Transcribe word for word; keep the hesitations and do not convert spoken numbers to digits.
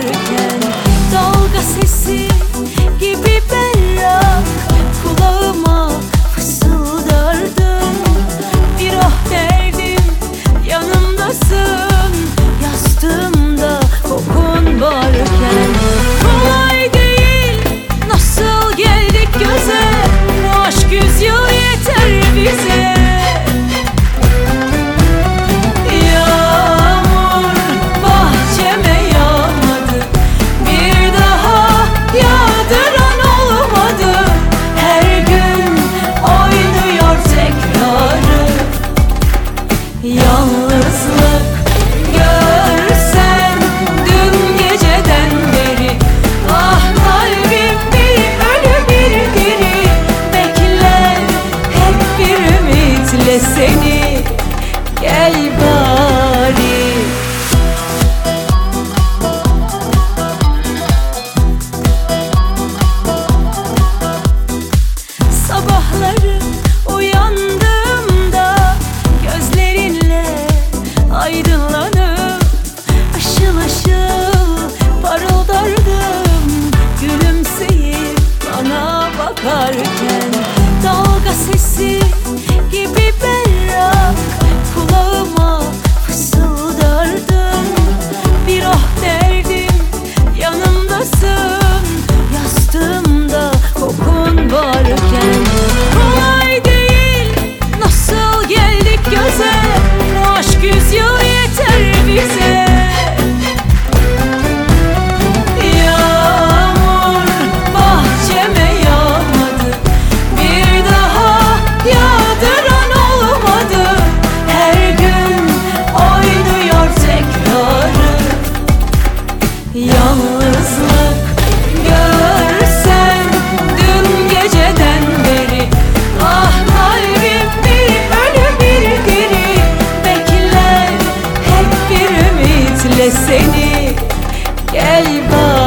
bakarken, dalga sesi gibi berrak kulağıma fısıldardın. Bir ah derdim, yanımdasın, yastığımda kokun varken. Kolay değil, nasıl geldik göze, bu aşk yüzyıl yeter bize. Yağmur bahçeme yağmadı, bir daha yağdıran olmadı. Her gün oynuyor tekrarı, yalnızlık görsen dün geceden beri. Ah kalbim bir ölü bir diri, bekler hep bir ümitle seni, gel bari. Sabahları uyandığımda gözlerinle aydınlanıp ışıl ışıl parıldardım, gülümseyip bana bakarken. Dalga sesi gibi berrak kulağıma fısıldardın. Bir ah derdim, yanımdasın, yastığımda kokun varken. Kolay değil, nasıl geldik göze, bu aşk yüzyıl yeter bize. Yağmur bahçeme yağmadı, bir daha yağdıran olmadı. Her gün oynuyor tekrarı, yalnızlık görsen dün geceden beri. Ah kalbim bir ölü bir diri, bekler hep bir ümitle seni, gel bari.